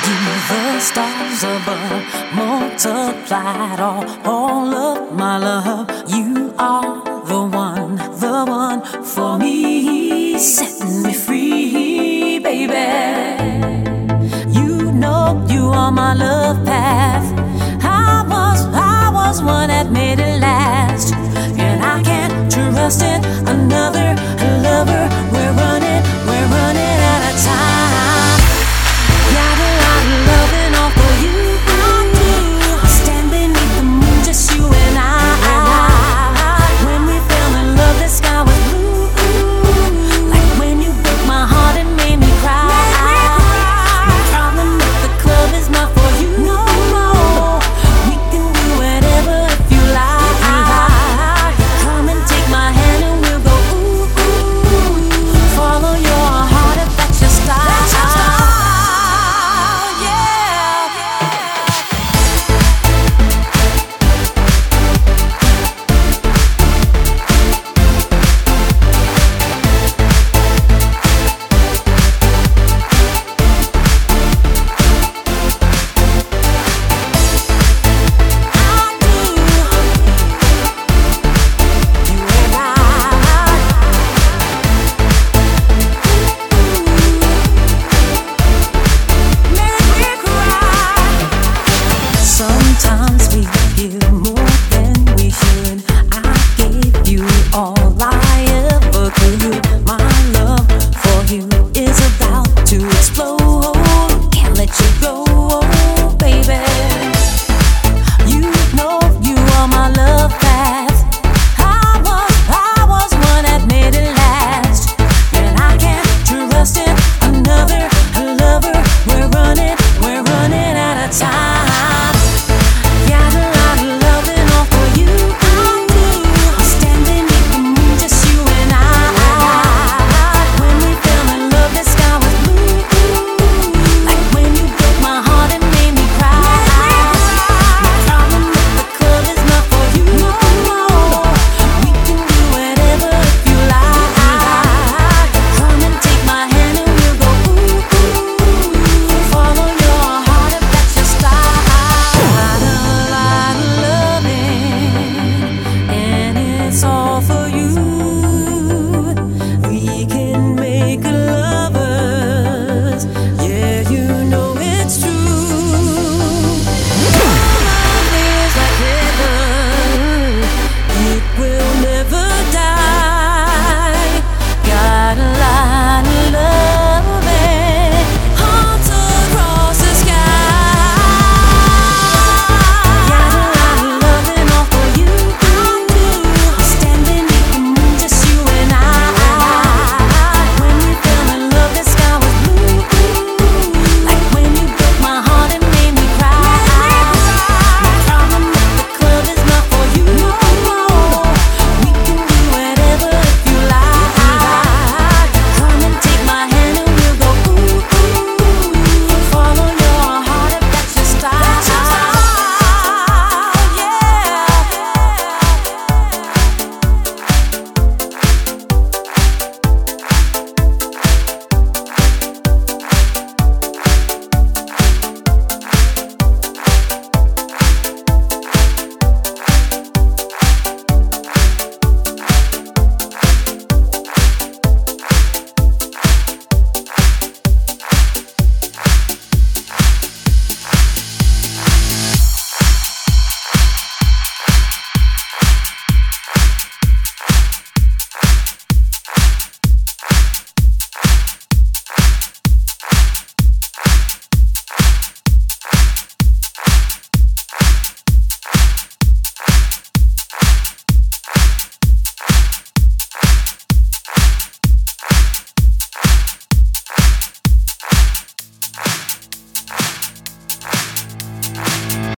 The stars above multiplied all of my love. You are the one for me, setting me free, baby. You know you are my love path. I was one that made it last, and I can't trust in another lover. We're running out of time. Got a lot of loving all for you. Stand beneath the moon, just you and I. When we fell in love, the sky was blue. Like when you broke my heart and made me cry. No problem if the club is not for you. No, we can do whatever if you like. Come and take my hand and we'll go ooh. Follow your heart if that's your style. Sometimes we give more than we should. I gave you all I ever could. My love for you is about to explode.